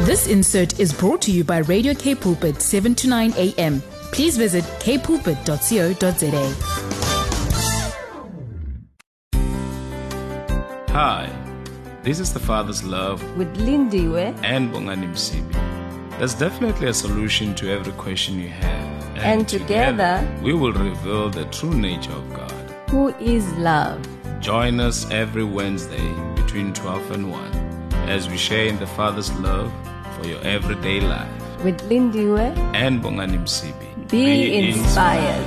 This insert is brought to you by Radio K Pulpit 7 to 9 a.m. Please visit kpulpit.co.za. Hi, this is The Father's Love with Lindiwe and Bongani Msibi. There's definitely a solution to every question you have. And together we will reveal the true nature of God, who is love. Join us every Wednesday between 12 and 1 as we share in the Father's love for your everyday life. With Lindiwe and Bongani Msibi. Be inspired.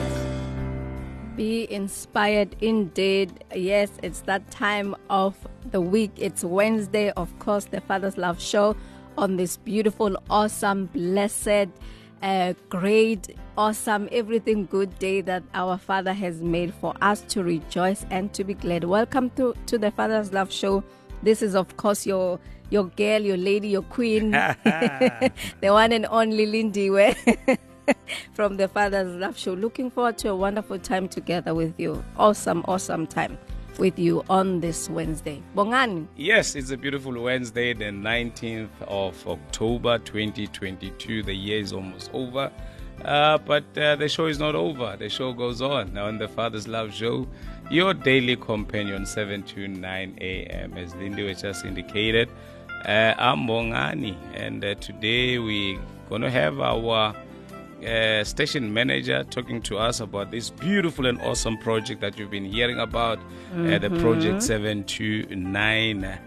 Be inspired indeed. Yes, it's that time of the week. It's Wednesday, of course, the Father's Love Show on this beautiful, awesome, blessed, great, awesome, everything good day that our Father has made for us to rejoice and to be glad. Welcome to the Father's Love Show. This is, of course, your girl, your lady, your queen, the one and only Lindiwe from the Father's Love Show. Looking forward to a wonderful time together with you. Awesome time with you on this Wednesday. Bongani. Yes, it's a beautiful Wednesday, the 19th of October 2022. The year is almost over. But the show is not over. The show goes on. Now on the Father's Love Show, your daily companion, 7 to 9 a.m. As Lindy just indicated, I'm Bongani. And today we're going to have our station manager talking to us about this beautiful and awesome project that you've been hearing about, the Project 729.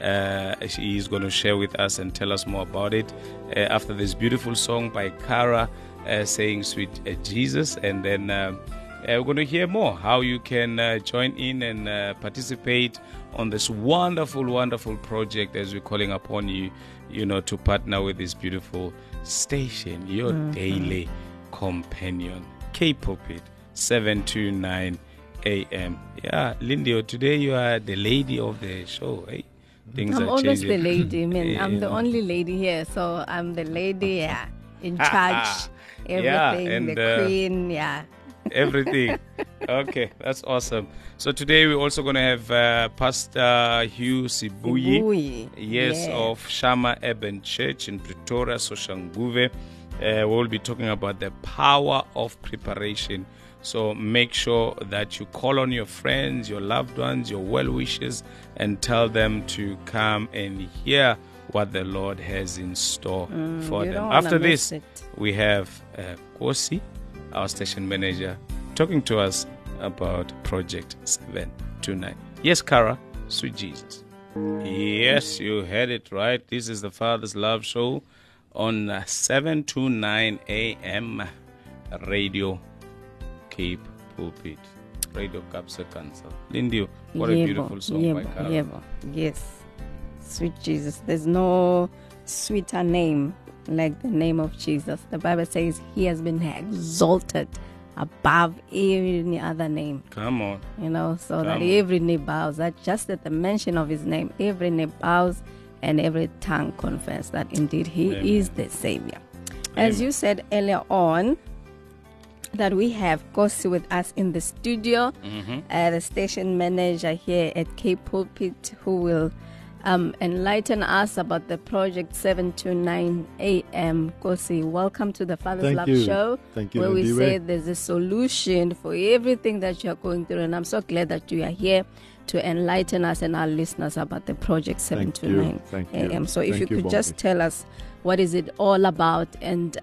He's going to share with us and tell us more about it after this beautiful song by Kara saying Sweet Jesus. And then we're going to hear more how you can join in and participate on this wonderful project as we're calling upon you, to partner with this beautiful station, your daily companion, K Pulpit 7 to 9 a.m. Yeah, Lindy, today you are the lady of the show, eh? I'm always the lady, man. I'm the only lady here, so I'm the lady, in charge. Everything, and, the queen, everything. Okay, that's awesome. So today we're also going to have Pastor Hugh Sibuyi, of Shama Urban Church in Pretoria, Soshanguve. We'll be talking about the power of preparation. So make sure that you call on your friends, your loved ones, your well-wishers, and tell them to come and hear what the Lord has in store for them. After this, we have Kosi, our station manager, talking to us about Project 729. Yes, Kara, Sweet Jesus. Yes, you heard it right. This is the Father's Love Show on 7 to 9 a.m. Radio Cape Pulpit, Radio Capsa Council. Lindy, what a beautiful song by Kara. Yes, Sweet Jesus. There's no sweeter name like the name of Jesus. The Bible says he has been exalted above any other name. Come on. That every knee bows. That just at the mention of his name, every knee bows and every tongue confess that indeed he is the Savior. As you said earlier on, that we have Kosi with us in the studio, the station manager here at K Pulpit, who will enlighten us about the Project 7 to 9 a.m. Kosi, welcome to the Father's Love Show. Thank you, where we Lindiwe. say there's a solution for everything that you're going through. And I'm so glad that you are here to enlighten us and our listeners about the Project 7 to 9 a.m. So if you could just tell us what is it all about and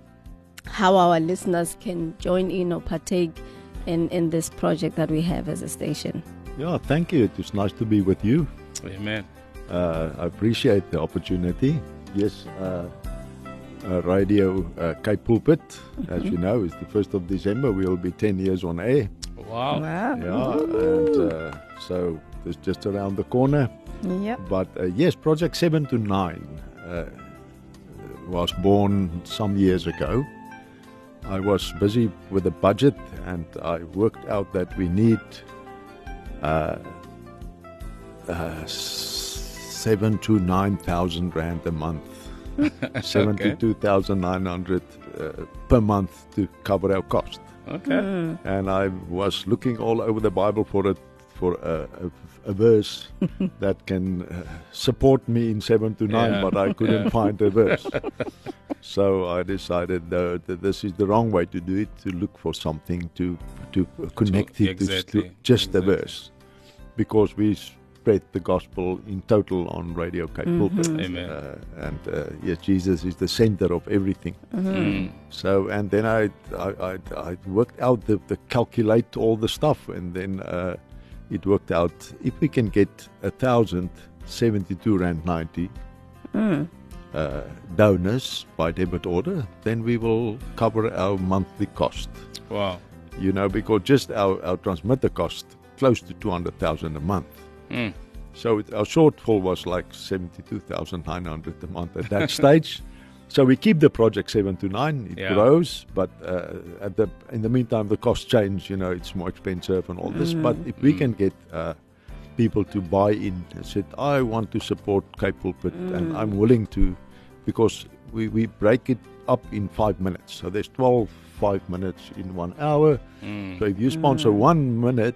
how our listeners can join in or partake in this project that we have as a station. Yeah, thank you. It was nice to be with you. Amen. I appreciate the opportunity. Yes, Radio K Pulpit, as you know, is the 1st of December. We'll be 10 years on air. Wow. Yeah, and so it's just around the corner. Yep. But yes, Project 7 to 9 was born some years ago. I was busy with the budget and I worked out that we need 7 to 9,000 rand a month, 72,900 per month to cover our cost. Okay. And I was looking all over the Bible for for a verse that can support me in 7 to 9, Yeah. but I couldn't find a verse. So I decided that this is the wrong way to do it, to look for something to connect it exactly, to just a exactly. verse. Because we spread the gospel in total on Radio Cape Pulpit. Amen. Yes, Jesus is the center of everything. Mm. So, and then I worked out the calculate all the stuff, and then it worked out if we can get 1,072 rand 90 donors by debit order, then we will cover our monthly cost. Wow. You know, because just our transmitter cost close to 200,000 a month. Mm. So our shortfall was like 72,900 a month at that stage. So we keep the project 7 to 9. It Yeah. grows, but in the meantime, the costs change. You know, it's more expensive and all this. But if we can get people to buy in and said, I want to support Cape Pulpit and I'm willing to, because we break it up in 5 minutes. So there's 5 minutes in 1 hour. So if you sponsor 1 minute,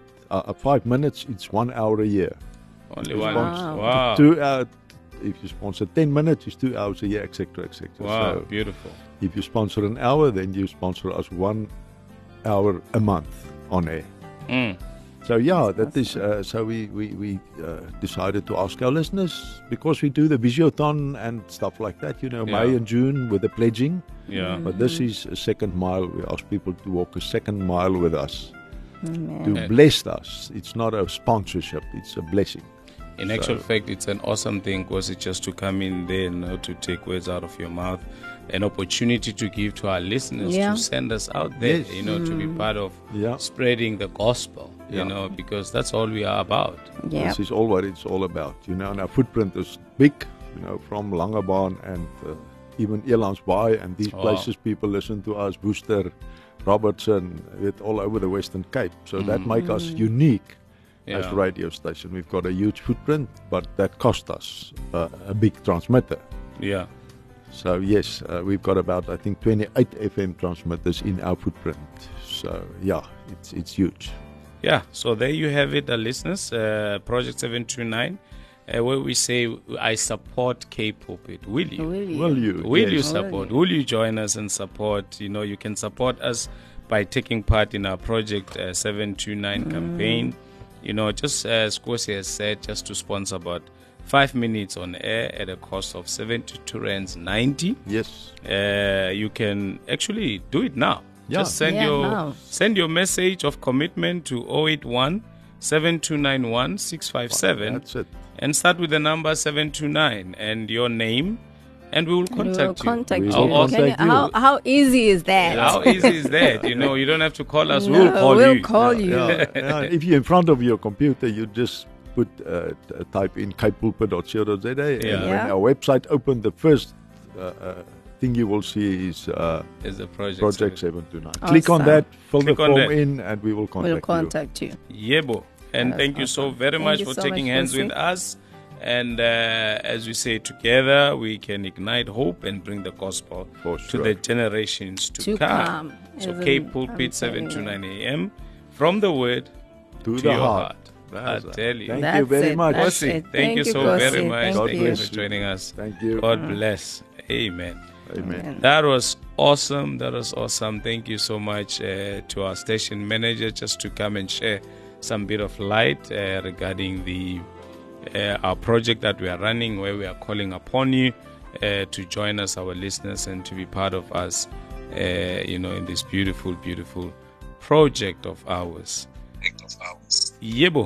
5 minutes, it's 1 hour a year. Only If you one. sponsor Wow. 2 hours, if you sponsor 10 minutes, it's 2 hours a year, etc., etc. Wow. So Beautiful. if you sponsor an hour, then you sponsor us 1 hour a month on air. Mm. So yeah, that is. So we decided to ask our listeners, because we do the Visiothon and stuff like that. You know, May Yeah. and June with the pledging. Yeah. But this is a second mile. We ask people to walk a second mile with us, Amen. to bless us. It's not a sponsorship; it's a blessing. In actual fact, it's an awesome thing, because it's just to come in there, to take words out of your mouth, an opportunity to give to our listeners, Yeah. to send us out there, Yes. to be part of Yeah. spreading the gospel, Yeah. because that's all we are about. Yeah. This is all what it's all about. You know, and our footprint is big. You know, from Langebaan and even Elandsbaai and these Wow. places, people listen to us. Worcester, Robertson, all over the Western Cape. So that make us unique as Yeah. radio station. We've got a huge footprint, but that cost us a big transmitter. Yeah. So yes, we've got about, I think, 28 FM transmitters in our footprint. So yeah, it's huge. Yeah, so there you have it, listeners. Project 729, where we say, I support Cape Pulpit. Will you? Will you? Will you Yes. support? Will you join us and support? You can support us by taking part in our Project 729 campaign. Just as Kosi has said, just to sponsor about 5 minutes on air at a cost of 72 rands 90. Yes. You can actually do it now. Yeah. Just send now. your message of commitment to 081 7291 657 That's it. and start with the number 729 and your name, and we will We will contact you. contact We you. will How contact you. How easy is that? How easy is that? You don't have to call us. No, We'll call we'll you. call you. Yeah. If you're in front of your computer, you just put type in capepulpit.co.za, and Yeah. when Yeah. our website opened, the first thing you will see is Is the project. Project 729. Click on Awesome. that, fill Click the on form that. in, and we will We'll contact contact you. Yebo. And That's thank you so awesome. very Thank much you for so taking much, hands Kosi. with us. And as we say, together we can ignite hope and bring the gospel For to sure. the generations to To come. come. So Isn't- Cape I'm Pulpit, telling 7 to you. 9 a.m. From the word you. to the your heart. I That's it. tell you. Thank That's you very it, much. that's Kosi, it. thank you so Kosi. very much. Thank God Thank you bless for you. joining us. Thank you. God bless. Amen. Amen. That was awesome. That was awesome. Thank you so much to our station manager, just to come and share some bit of light regarding the our project that we are running, where we are calling upon you to join us, our listeners, and to be part of us, in this beautiful, beautiful project of ours. Yebo.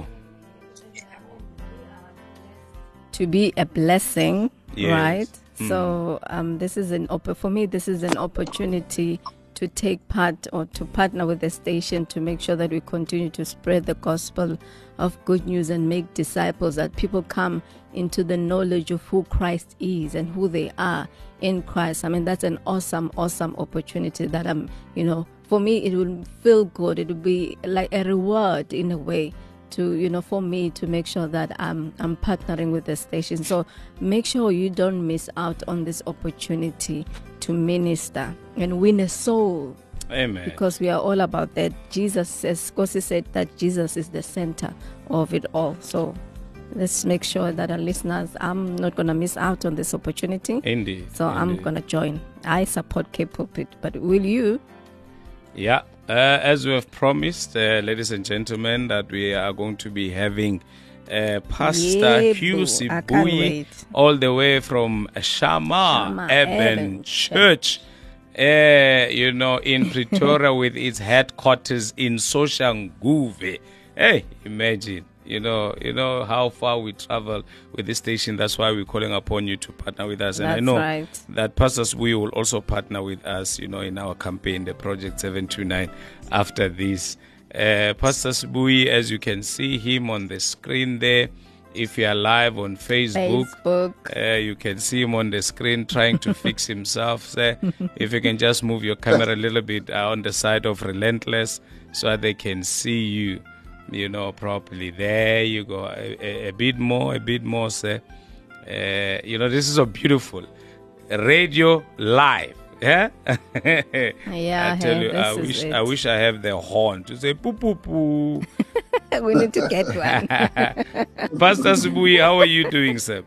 To be a blessing, Yes. right? So this is for me. This is an opportunity to take part or to partner with the station to make sure that we continue to spread the gospel of good news and make disciples, that people come into the knowledge of who Christ is and who they are in Christ. I mean, that's an awesome, awesome opportunity that for me, it will feel good. It will be like a reward in a way to, for me to make sure that I'm partnering with the station. So make sure you don't miss out on this opportunity to minister and win a soul Amen. Because we are all about that. Jesus, as Kosi said, that Jesus is the center of it all. So let's make sure that our listeners, I'm not going to miss out on this opportunity. Indeed. So I'm going to join. I support Cape Pulpit, but will you? Yeah. As we have promised, ladies and gentlemen, that we are going to be having Pastor Hugh Sibuyi all the way from Shama Urban Church, in Pretoria with its headquarters in Soshanguve. Hey, imagine. You know how far we travel with this station. That's why we're calling upon you to partner with us. And That's I know right. that Pastors we will also partner with us, in our campaign, the Project 729, after this. Pastor Sibuyi, as you can see him on the screen there, if you are live on Facebook. You can see him on the screen trying to fix himself. So if you can just move your camera a little bit on the side of Relentless so that they can see you, properly. There you go. A bit more, sir. This is a beautiful radio live. Yeah, yeah. I tell you, I wish I have the horn to say poo poo poo. We need to get one. Pastor Sibuyi, how are you doing, sir?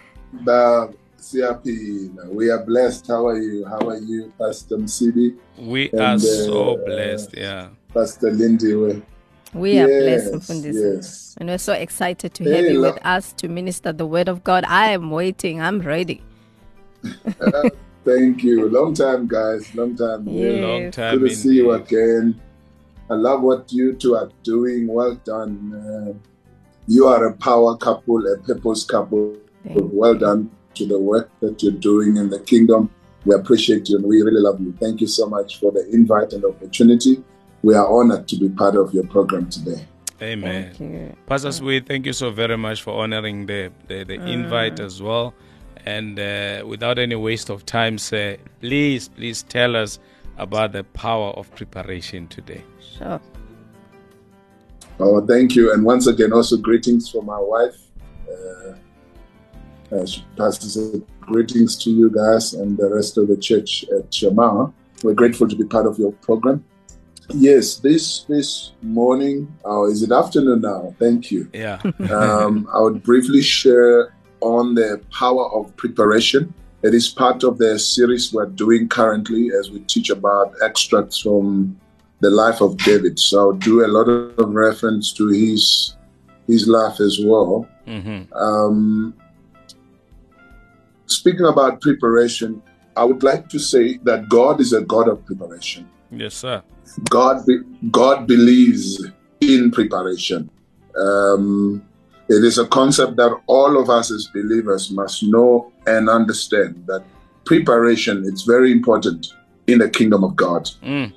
CRP, we are blessed. How are you? How are you, Pastor Msibi? We are so blessed. Yeah, Pastor Lindy. We are blessed, Mfundisi. Yes. And we're so excited to have you with us to minister the word of God. I am waiting. I'm ready. Thank you. Long time, guys. Long time. Yes. Long time. Good to see you again. I love what you two are doing. Well done. You are a power couple, a purpose couple. Well done to the work that you're doing in the kingdom. We appreciate you and we really love you. Thank you so much for the invite and the opportunity. We are honored to be part of your program today. Amen. Thank you. Pastor Sibuyi, thank you so very much for honoring the invite as well. And without any waste of time, sir, please tell us about the power of preparation today. Sure. Oh, thank you. And once again, also greetings from my wife. Pastor said, greetings to you guys and the rest of the church at Shema. We're grateful to be part of your program. Yes, this morning, is it afternoon now? Thank you. Yeah. I would briefly share on the power of preparation. It is part of the series we're doing currently as we teach about extracts from the life of David. So I'll do a lot of reference to his life as well. Mm-hmm. Speaking about preparation, I would like to say that God is a God of preparation. Yes, sir. God believes in preparation. It is a concept that all of us as believers must know and understand, that preparation is very important in the kingdom of God.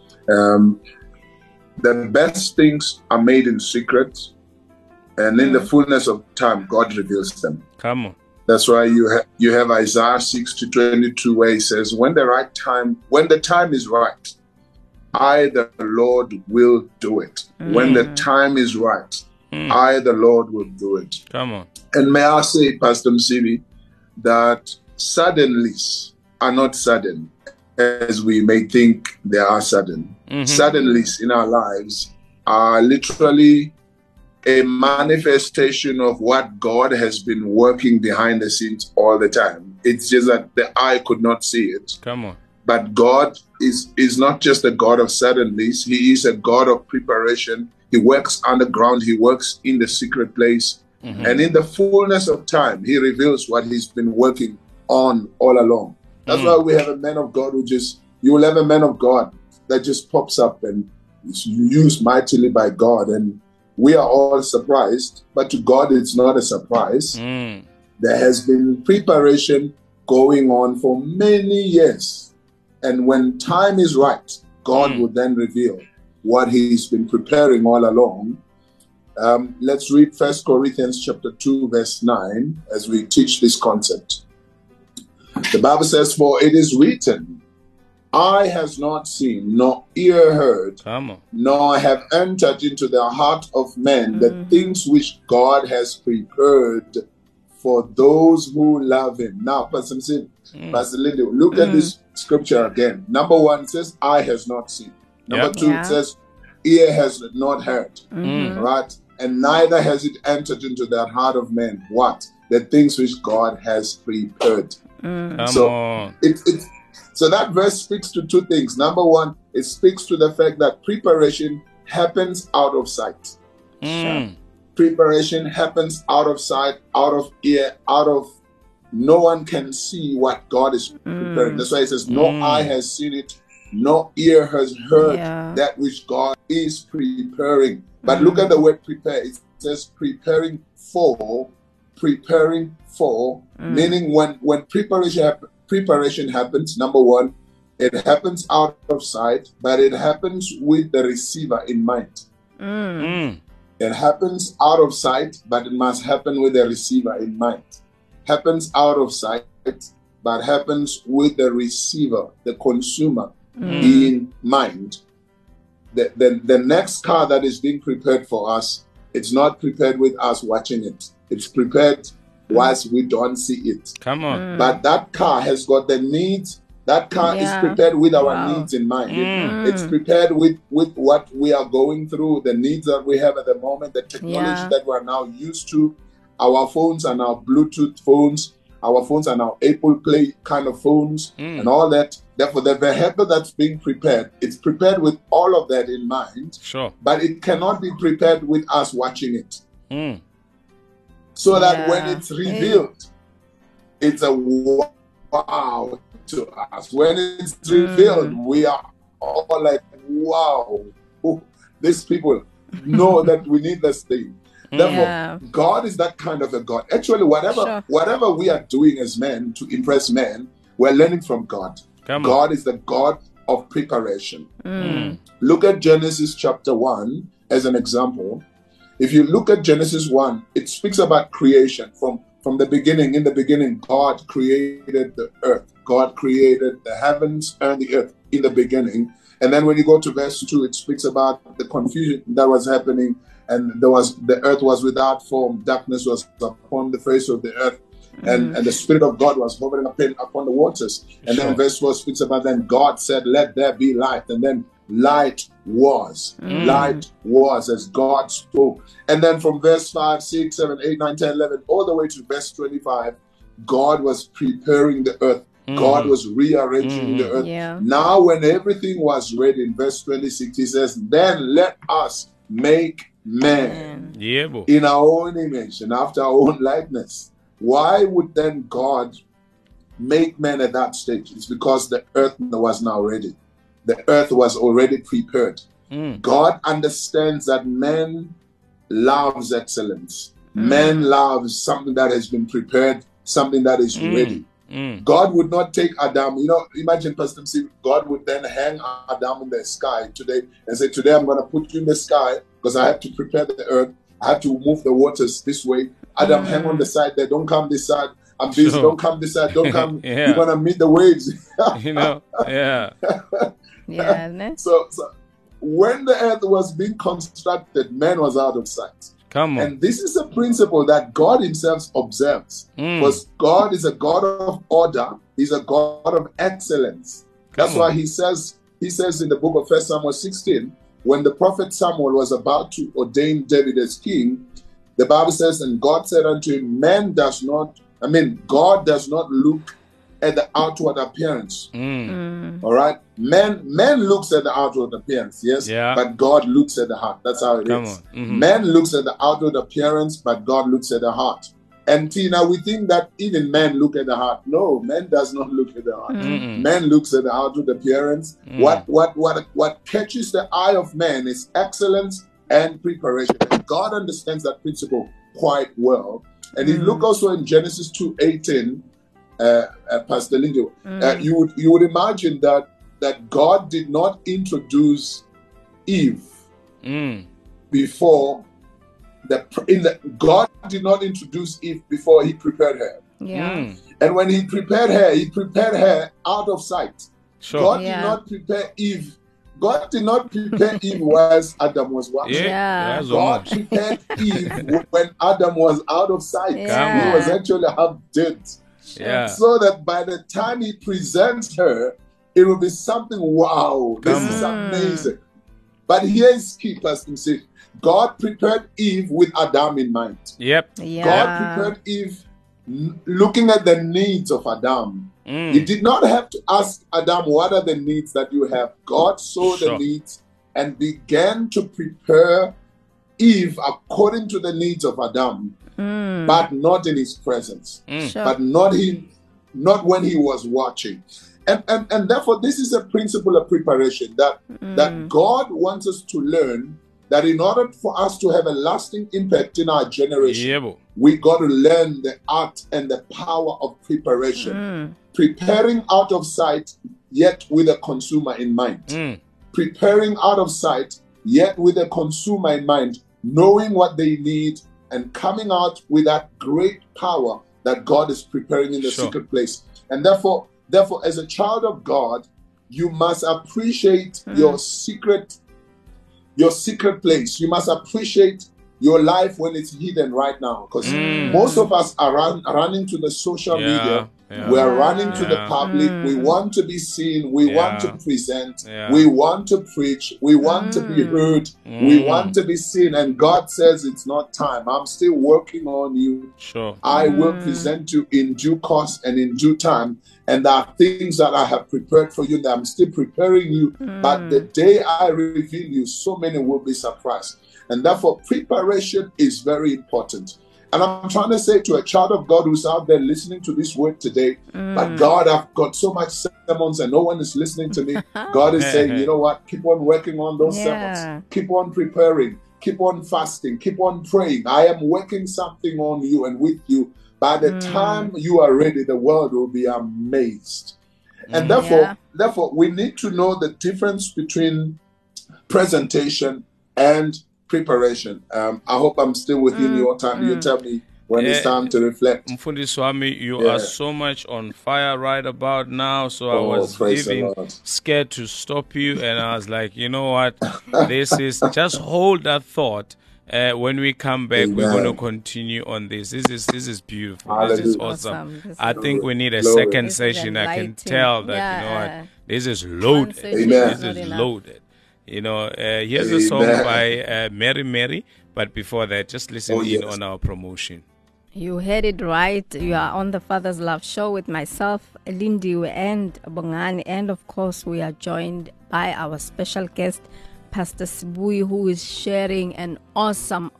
The best things are made in secret, and in the fullness of time, God reveals them. Come on. That's why you have Isaiah 6:22, where he says, when the time is right, I, the Lord, will do it. When the time is right, I, the Lord, will do it. Come on. And may I say, Pastor Msibi, that suddenlies are not sudden as we may think they are sudden. Suddenlies in our lives are literally a manifestation of what God has been working behind the scenes all the time. It's just that the eye could not see it. Come on. But God is not just a God of suddenlies. He is a God of preparation. He works underground. He works in the secret place. And in the fullness of time, he reveals what he's been working on all along. That's why we have a man of God you will have a man of God that just pops up and is used mightily by God. And we are all surprised, but to God, it's not a surprise. There has been preparation going on for many years. And when time is right, God will then reveal what he's been preparing all along. Let's read 1 Corinthians chapter 2, verse 9, as we teach this concept. The Bible says, for it is written, eye has not seen, nor ear heard, nor have entered into the heart of men the things which God has prepared for those who love him. Now, Pastor Lindy, look at this scripture again. Number one, it says, eye has not seen. Number Yep. 2, Yeah. it says, ear has not heard, right? And neither has it entered into the heart of man. What? The things which God has prepared. Come So on. So that verse speaks to 2 things. Number 1, it speaks to the fact that preparation happens out of sight. Mm. Preparation happens out of sight, out of ear, out of no one can see what God is preparing. That's why it says, no eye has seen it, no ear has heard Yeah. that which God is preparing. But look at the word prepare. It says preparing for, meaning when preparation happens, number 1, it happens out of sight, but it happens with the receiver in mind. Mm. It happens out of sight, but it must happen with the receiver in mind. Happens out of sight, but happens with the receiver, the consumer, in mind. The next car that is being prepared for us, it's not prepared with us watching it. It's prepared whilst we don't see it. Come on. But that car has got the needs. That car is Yeah. prepared with our Wow. needs in mind. It's prepared with what we are going through, the needs that we have at the moment, the technology Yeah. that we're now used to. Our phones are now Bluetooth phones. Our phones are now Apple Play kind of phones and all that. Therefore, the vehicle that's being prepared, it's prepared with all of that in mind, Sure. but it cannot be prepared with us watching it. Mm. So that Yeah. when it's revealed, it's a wow to us. When it's revealed, we are all like, wow, oh, these people know that we need this thing. Therefore, Yeah. God is that kind of a God. Actually, whatever we are doing as men to impress men, we're learning from God. Come on. God is the God of preparation. Look at Genesis chapter 1 as an example. If you look at Genesis 1, it speaks about creation from the beginning. In the beginning, God created the earth. God created the heavens and the earth in the beginning. And then when you go to verse 2, it speaks about the confusion that was happening. And the earth was without form. Darkness was upon the face of the earth. And the Spirit of God was hovering upon the waters. And Sure. then verse 4 speaks about, then God said, let there be light. And then light was. Light was as God spoke. And then from verse 5, 6, 7, 8, 9, 10, 11, all the way to verse 25, God was preparing the earth. God was rearranging the earth. Yeah. Now when everything was ready, in verse 26, he says, then let us make man Yeah, boy. in our own image and after our own likeness. Why would then God make man at that stage? It's because the earth was now ready. The earth was already prepared. God understands that man loves excellence. Man loves something that has been prepared, something that is ready. God would not take Adam, imagine Pastor MC, God would then hang Adam in the sky today and say, today I'm going to put you in the sky because I have to prepare the earth. I have to move the waters this way. Adam, hang on the side there. Don't come this side. I'm busy. Sure. Don't come this side. Don't come. Yeah. You're going to meet the waves. Yeah. Yeah, ne? So when the earth was being constructed, man was out of sight. Come on. And this is a principle that God himself observes. Because God is a God of order. He's a God of excellence. That's why he says in the book of 1 Samuel 16, when the prophet Samuel was about to ordain David as king, the Bible says, and God said unto him, God does not look at the outward appearance. All right? Man looks at the outward appearance, yes? Yeah. But God looks at the heart. That's how it is. Man looks at the outward appearance, but God looks at the heart. And Tina, we think that even men look at the heart. No, man does not look at the heart. Man looks at the outward appearance. What catches the eye of man is excellence and preparation. And God understands that principle quite well. And if you look also in Genesis 2:18, Pastor Lindy, you would imagine that God did not introduce Eve before God did not introduce Eve before he prepared her. Yeah. And when he prepared her out of sight. Sure. God did not prepare Eve. God did not prepare Eve whilst Adam was watching. Yeah. God prepared Eve when Adam was out of sight. Yeah. He was actually half dead. Yeah. So that by the time he presents her, it will be something, wow, this is amazing. But here is key, Pastor Steve. God prepared Eve with Adam in mind. Yep. Yeah. God prepared Eve looking at the needs of Adam. He did not have to ask Adam, what are the needs that you have? God saw the needs and began to prepare Eve according to the needs of Adam, but not in his presence, Sure. but not when he was watching. And therefore, this is a principle of preparation that God wants us to learn, that in order for us to have a lasting impact in our generation, we got to learn the art and the power of preparation. Preparing out of sight, yet with a consumer in mind. Preparing out of sight, yet with a consumer in mind, knowing what they need and coming out with that great power that God is preparing in the secret place. And therefore, as a child of God, you must appreciate your secret place. You must appreciate your life when it's hidden right now. Because most of us are running to the social media. We are running to the public. We want to be seen. We want to present. We want to preach. We want to be heard. We want to be seen. And God says it's not time. I'm still working on you. I will present you in due course and in due time. And there are things that I have prepared for you that I'm still preparing you. But the day I reveal you, so many will be surprised. And therefore, preparation is very important. And I'm trying to say to a child of God who's out there listening to this word today, but God, I've got so much sermons and no one is listening to me. God is saying, you know what? Keep on working on those sermons. Keep on preparing. Keep on fasting. Keep on praying. I am working something on you and with you. By the time you are ready, the world will be amazed. And therefore, we need to know the difference between presentation and preparation. I hope I'm still within your time. You tell me when it's time to reflect. Mfundi Swami, you are so much on fire right about now. So I was even scared to stop you. And I was like, you know what? This is just hold that thought. When we come back, we're going to continue on this. This is beautiful. Hallelujah. This is awesome. I think we need a second session. I can tell that, you know what? This is loaded. This is loaded. You know, here's a song by Mary Mary. But before that, just listen in on our promotion. You heard it right. You are on the Father's Love Show with myself, Lindiwe, and Bongani. And of course, we are joined by our special guest, Pastor Sibuyi, who is sharing an awesome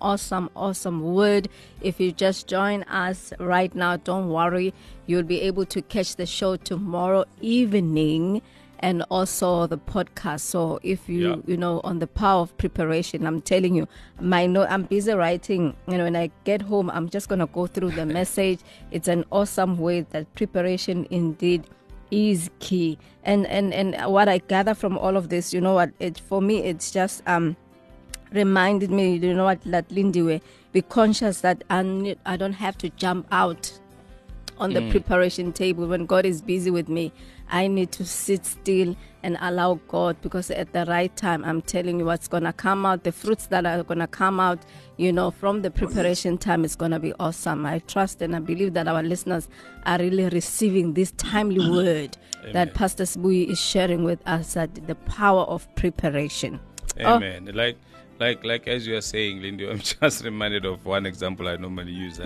word. If you just join us right now, don't worry. You'll be able to catch the show tomorrow evening and also the podcast. So if you know, on the power of preparation, I'm telling you, I'm busy writing. You know, when I get home, I'm just going to go through the message. It's an awesome way that preparation indeed is key. And what I gather from all of this, you know what, for me, it's just reminded me, you know what, that Lindiwe, be conscious that I don't have to jump out on the preparation table when God is busy with me. I need to sit still and allow God, because at the right time, I'm telling you what's going to come out, the fruits that are going to come out, you know, from the preparation time is going to be awesome. I trust and I believe that our listeners are really receiving this timely word that Pastor Sibuyi is sharing with us, that the power of preparation. Amen. Like as you are saying, Lindy, I'm just reminded of one example I normally use.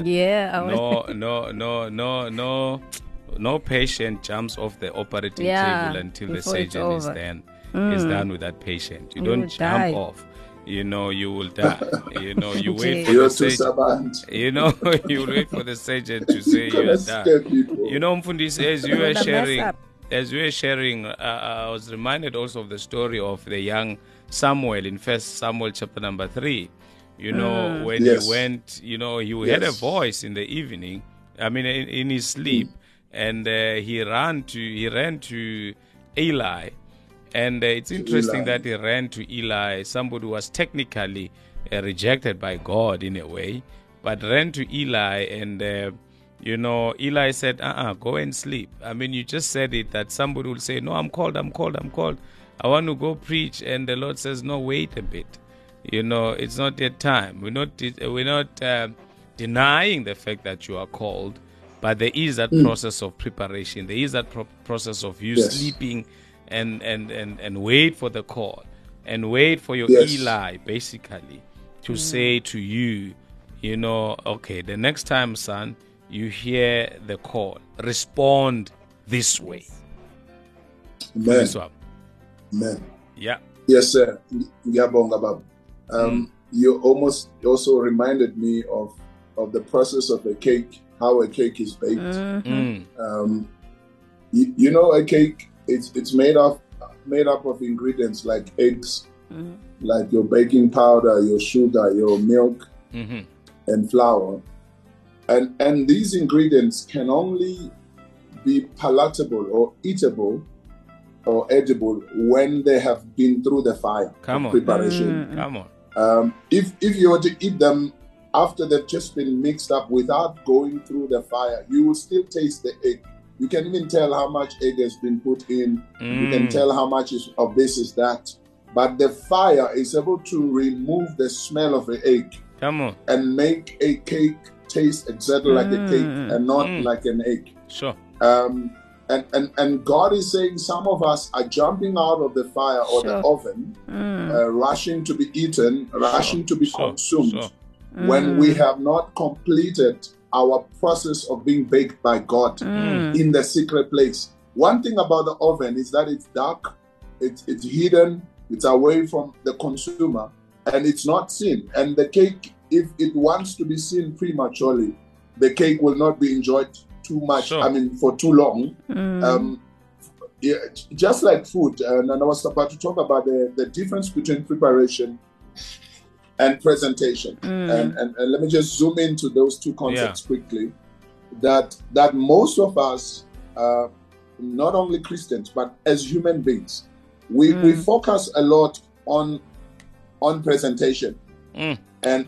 No patient jumps off the operating table until the surgeon is done with that patient. You don't jump off. You know, you will die. You know, you wait for the surgeon. You know, you wait for the surgeon to say you are done. You know, Mfundi, as you were sharing, I was reminded also of the story of the young Samuel in 1 Samuel chapter number 3. You know, when he went, you know, he had a voice in the evening, in his sleep, and he ran to Eli. And it's interesting that he ran to Eli, somebody who was technically rejected by God in a way, but ran to Eli, and Eli said, go and sleep. You just said it, that somebody will say, no, I'm called. I want to go preach. And the Lord says, no, wait a bit. You know, it's not yet time. We're not denying the fact that you are called, but there is that process of preparation. There is that process of you sleeping and wait for the call and wait for your Yes. Eli basically to say to you, you know, okay, the next time, son, you hear the call, respond this way. Amen. This one. Amen. Yeah. Yes, sir. Ngiyabonga, Baba. You almost also reminded me of the process of a cake, how a cake is baked. You know, a cake, it's made up of ingredients like eggs, like your baking powder, your sugar, your milk, and flour. And these ingredients can only be palatable or eatable or edible when they have been through the fire Come of on. preparation. Come on. If you were to eat them after they've just been mixed up without going through the fire, you will still taste the egg. You can even tell how much egg has been put in. You can tell how much of this is that. But the fire is able to remove the smell of the egg Come on. and make a cake taste exactly like a cake and not like an egg. Sure. And God is saying some of us are jumping out of the fire or the oven, rushing to be eaten, rushing to be consumed, when we have not completed our process of being baked by God in the secret place. One thing about the oven is that it's dark, it's hidden, it's away from the consumer, and it's not seen. And the cake, if it wants to be seen prematurely, the cake will not be enjoyed too much, for too long. Yeah, just like food. And I was about to talk about the difference between preparation and presentation. And let me just zoom into those two concepts quickly. That most of us, not only Christians, but as human beings, we focus a lot on presentation and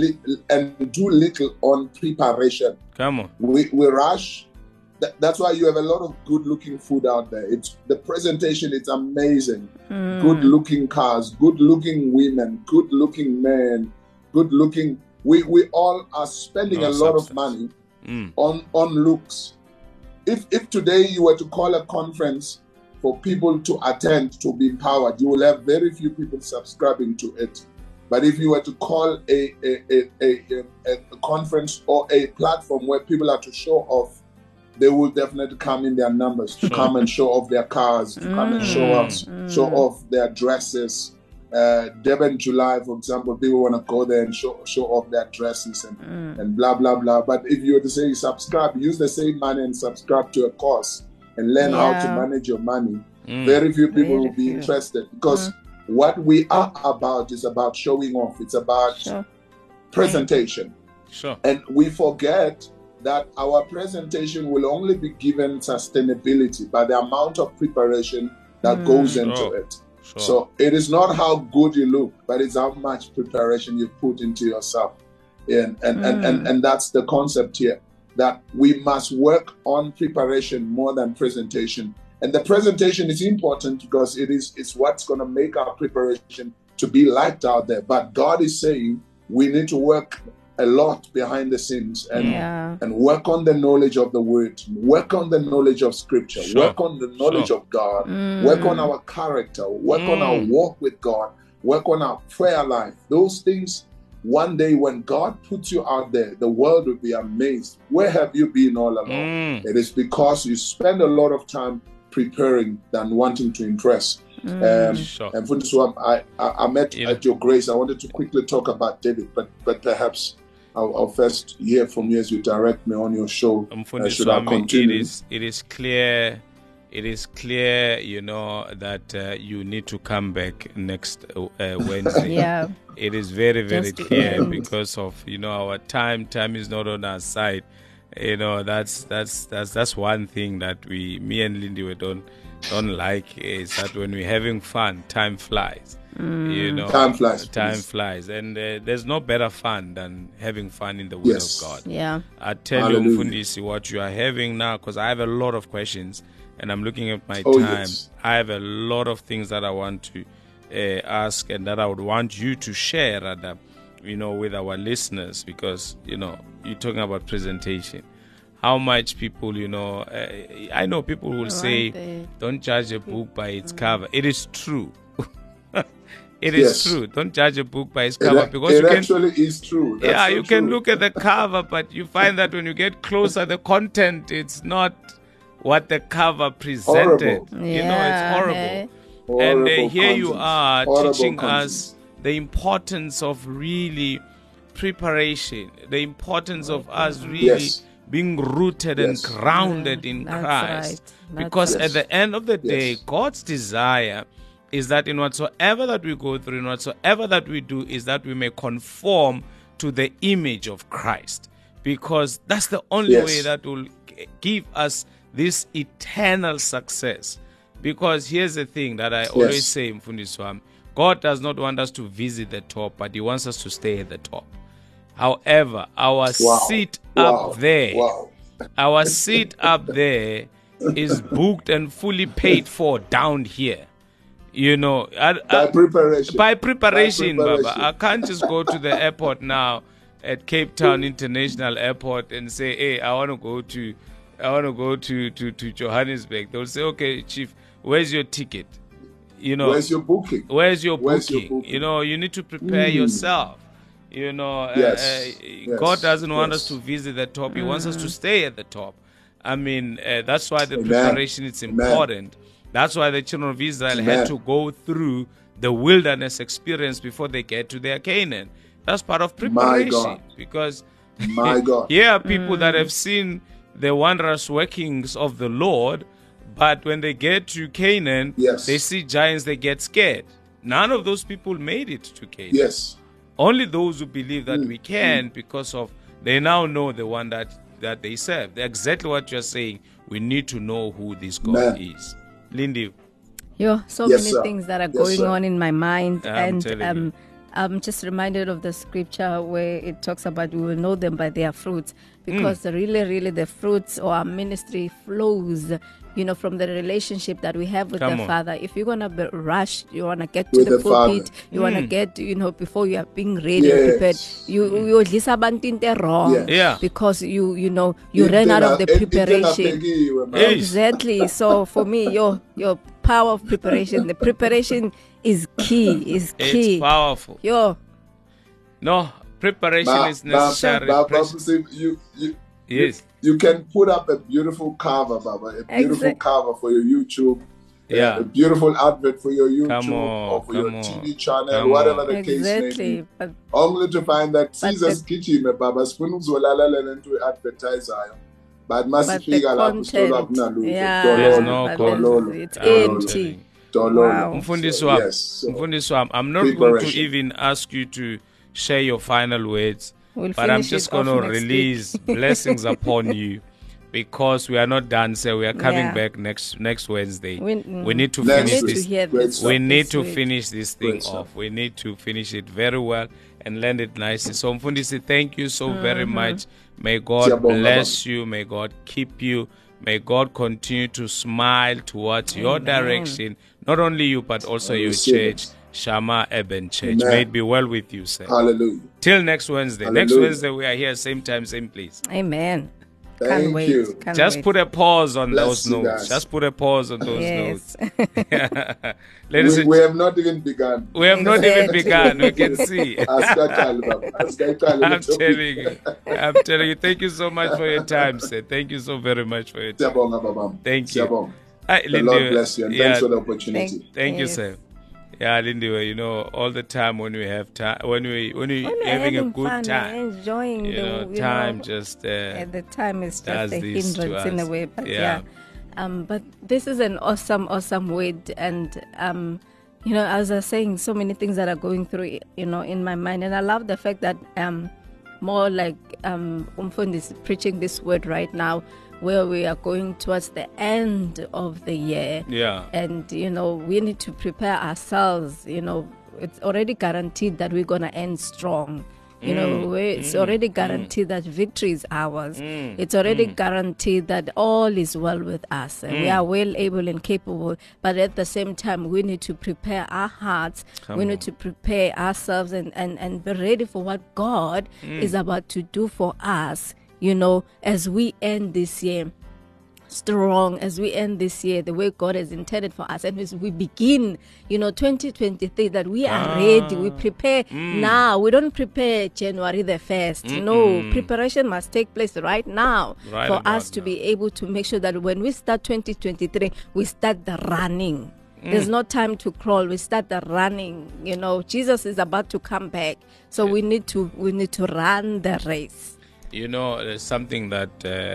do little on preparation. Come on. We rush. That's why you have a lot of good-looking food out there. It's the presentation. It's amazing. Good-looking cars, good-looking women, good-looking men, good-looking. We all are spending a lot of money on looks. If today you were to call a conference for people to attend to be empowered, you will have very few people subscribing to it. But if you were to call a conference or a platform where people are to show off, they will definitely come in their numbers to come and show off their cars, to come and show off their dresses. Durban July, for example, people want to go there and show off their dresses and blah, blah, blah. But if you were to say subscribe, use the same money and subscribe to a course and learn how to manage your money, very few people will be interested, because what we are about is about showing off. It's about presentation. And we forget that our presentation will only be given sustainability by the amount of preparation that goes into it. So it is not how good you look, but it's how much preparation you put into yourself. And that's the concept here, that we must work on preparation more than presentation. And the presentation is important because it's what's going to make our preparation to be liked out there. But God is saying we need to work a lot behind the scenes and work on the knowledge of the word, work on the knowledge of scripture, work on the knowledge of God, work on our character, work on our walk with God, work on our prayer life. Those things, one day when God puts you out there, the world will be amazed. Where have you been all along? It is because you spend a lot of time preparing than wanting to impress. And Fundiswa, I met at your grace. I wanted to quickly talk about David, but perhaps I'll first hear from you as you direct me on your show. Should I continue? It is clear, you know, that you need to come back next Wednesday. It is very, very clear because of, you know, our time. Time is not on our side. You know, that's one thing that me and Lindy don't like, is that when we're having fun, time flies. You know, time flies, and there's no better fun than having fun in the Word of God. I tell you, Mfundisi, what you are having now, because I have a lot of questions, and I'm looking at my time. I have a lot of things that I want to ask, and that I would want you to share, rather, you know, with our listeners, because, you know, you're talking about presentation. how much people, I know people will say, they? don't judge a book by its cover. It is true. It is true. Don't judge a book by its cover, because it you can, actually is true. That's so you can true. look at the cover, but you find that when you get closer, the content, it's not what the cover presented. Horrible. It's horrible. Hey. And Horrible here you content. are Horrible teaching content. us the importance of really preparation, the importance of us really Yes. being rooted Yes. and grounded in That's Christ. right. That's Because right. at the end of the day, Yes. God's desire is that in whatsoever that we go through, in whatsoever that we do, is that we may conform to the image of Christ. Because that's the only Yes. way that will give us this eternal success. Because here's the thing that I always say, Mfundiswam, God does not want us to visit the top, but He wants us to stay at the top. However, our seat up there, our seat up there is booked and fully paid for down here. By preparation. By preparation, By Baba. I can't just go to the airport now at Cape Town International Airport and say, hey, I want to go to Johannesburg. They'll say, okay, Chief, where's your ticket? Where's your booking? Where's your Where's your booking? booking? You need to prepare yourself. Yes. God doesn't want us Yes. to visit the top. He wants us to stay at the top. I mean, that's why the preparation is important. That's why the children of Israel had to go through the wilderness experience before they get to their Canaan. That's part of preparation. God. Because My God. here are people that have seen the wondrous workings of the Lord, but when they get to Canaan, Yes. they see giants, they get scared. None of those people made it to Canaan. Yes. Only those who believe that we can, because of they now know the one that they serve. They're exactly what you're saying. We need to know who this God Man. is. Lindy, So Yes, many sir. things that are Yes, going sir. on in my mind, I'm telling you. I'm just reminded of the scripture where it talks about we will know them by their fruits, because really the fruits or our ministry flows, from the relationship that we have with Come the on. Father. If you're gonna be rushed, you wanna get to With the the Father. pulpit, you wanna get, before you are being ready Yes. and prepared, you listen about wrong, Yes. Yeah. because you ran out of the preparation. Hey. Exactly. So for me, your power of preparation, the preparation is key. Is key. it's powerful. No, preparation is necessary. Yes. You can put up a beautiful cover, Baba, a beautiful cover for your YouTube. Yeah. A beautiful advert for your YouTube Come on, or for your come on, TV channel, come whatever on. the case may Exactly. be. But Only to find that But Caesar's kitchen, Baba, sifuna ukuzolalela into advertiser. But the masifika lapho sithola content, kunalutho. There's no but content. it's I'm telling empty. you. Dololo. Mfundisi wami, Yes. So, Mfundisi wami, I'm not going to Preparation. even ask you to share your final words, We'll but I'm finish just it going off to next release blessings upon you, because we are not done, so we are coming Yeah. back next Wednesday. We- We need to Next finish need to this. hear Great this. stuff. We need this to week. finish this thing Great stuff. off. We need to finish it very well and land it nicely. So Mfundisi, thank you so very much. May God Siyabonga, bless you. May God keep you. May God continue to smile towards your direction. Not only you, but also your receive church, it. Shama Eben Church. Amen. May it be well with you, sir. Hallelujah. Till next Wednesday. Next Hallelujah. Wednesday, we are here, same time, same place. Amen. Thank Can't wait. you. Can't Just wait. put a pause on Bless those you notes. guys. Just put a pause on those Yes. notes. Ladies We and have not even begun. we have not even Exactly. begun. We can see. Asikathali, Baba. Asikathali, I'm little telling bit. you. I'm telling you. Thank you so much for your time, sir. Thank you so very much for your time. Siyabonga, Baba. Thank you. Siyabonga. Hi, The Lindy. Lord bless you and Yeah, thanks for the opportunity. thank you, Yes. sir. Yeah, Lindy, all the time when we have time, when we're When we're having a good fun, time, enjoying time just the time is does just a this to hindrance in a us. way, but Yeah. but this is an awesome word, and as I was saying, so many things that are going through in my mind, and I love the fact that more like Umfundi is preaching this word right now, where we are going towards the end of the year. Yeah. And we need to prepare ourselves. It's already guaranteed that we're gonna end strong. It's already guaranteed that victory is ours. It's already guaranteed that all is well with us. And we are well able and capable. But at the same time, we need to prepare our hearts. We need to prepare ourselves and be ready for what God is about to do for us as we end this year strong, as we end this year the way God has intended for us, and as we begin 2023, that we are ready, we prepare now. We don't prepare January the 1st. No, preparation must take place right now for us to be able to make sure that when we start 2023, we start the running. There's no time to crawl. We start the running. Jesus is about to come back, so we need to run the race. There's something that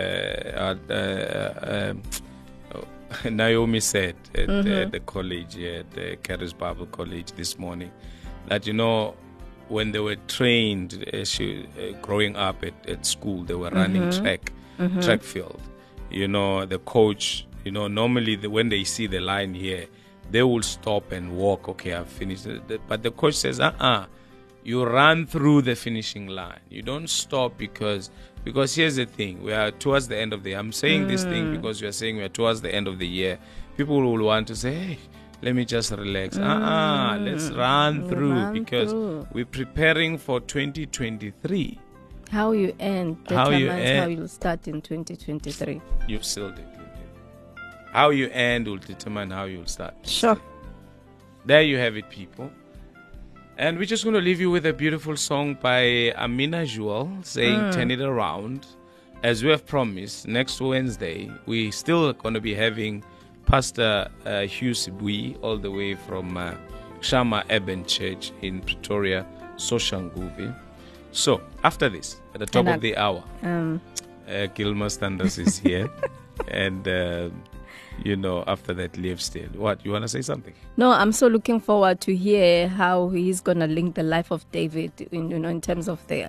Naomi said at the college, at the Charis Bible College this morning, that when they were trained growing up at school, they were running track field. The coach, normally when they see the line here, they will stop and walk. Okay, I've finished. But the coach says, you run through the finishing line. You don't stop because here's the thing. We are towards the end of the year. I'm saying this thing because you are saying we are towards the end of the year. People will want to say, hey, let me just relax. Let's run through because we're preparing for 2023. How you end determines how you'll start in 2023. You've sealed it. How you end will determine how you'll start. Sure. There you have it, people. And we're just going to leave you with a beautiful song by Amina Jewel saying Turn It Around. As we have promised, next Wednesday, we're still going to be having Pastor Hugh Sibui all the way from Shama Eben Church in Pretoria, Soshanguve. So, after this, at the top of the hour, Gilma Standers is here. And... after that, Liv still. What, you want to say something? No, I'm so looking forward to hear how he's going to link the life of David, in terms of the,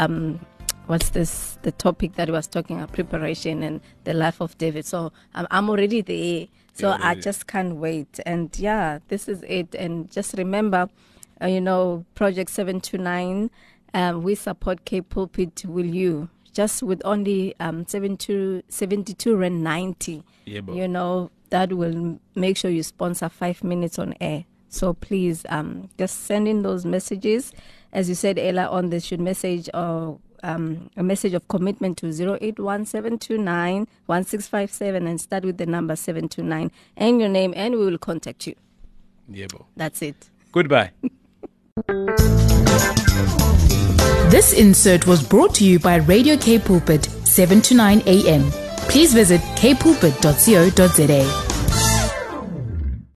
the topic that he was talking about, preparation and the life of David. So I'm already there. So I just can't wait. And this is it. And just remember, Project 729, we support Cape Pulpit. Will you? Just with only 72 Rand 90, that will make sure you sponsor 5 minutes on air. So please, just send in those messages. As you said earlier on, they should message a message of commitment to 0817291657 and start with the number 729 and your name, and we will contact you. That's it. Goodbye. This insert was brought to you by Radio K Pulpit, 7 to 9 a.m. Please visit kpulpit.co.za.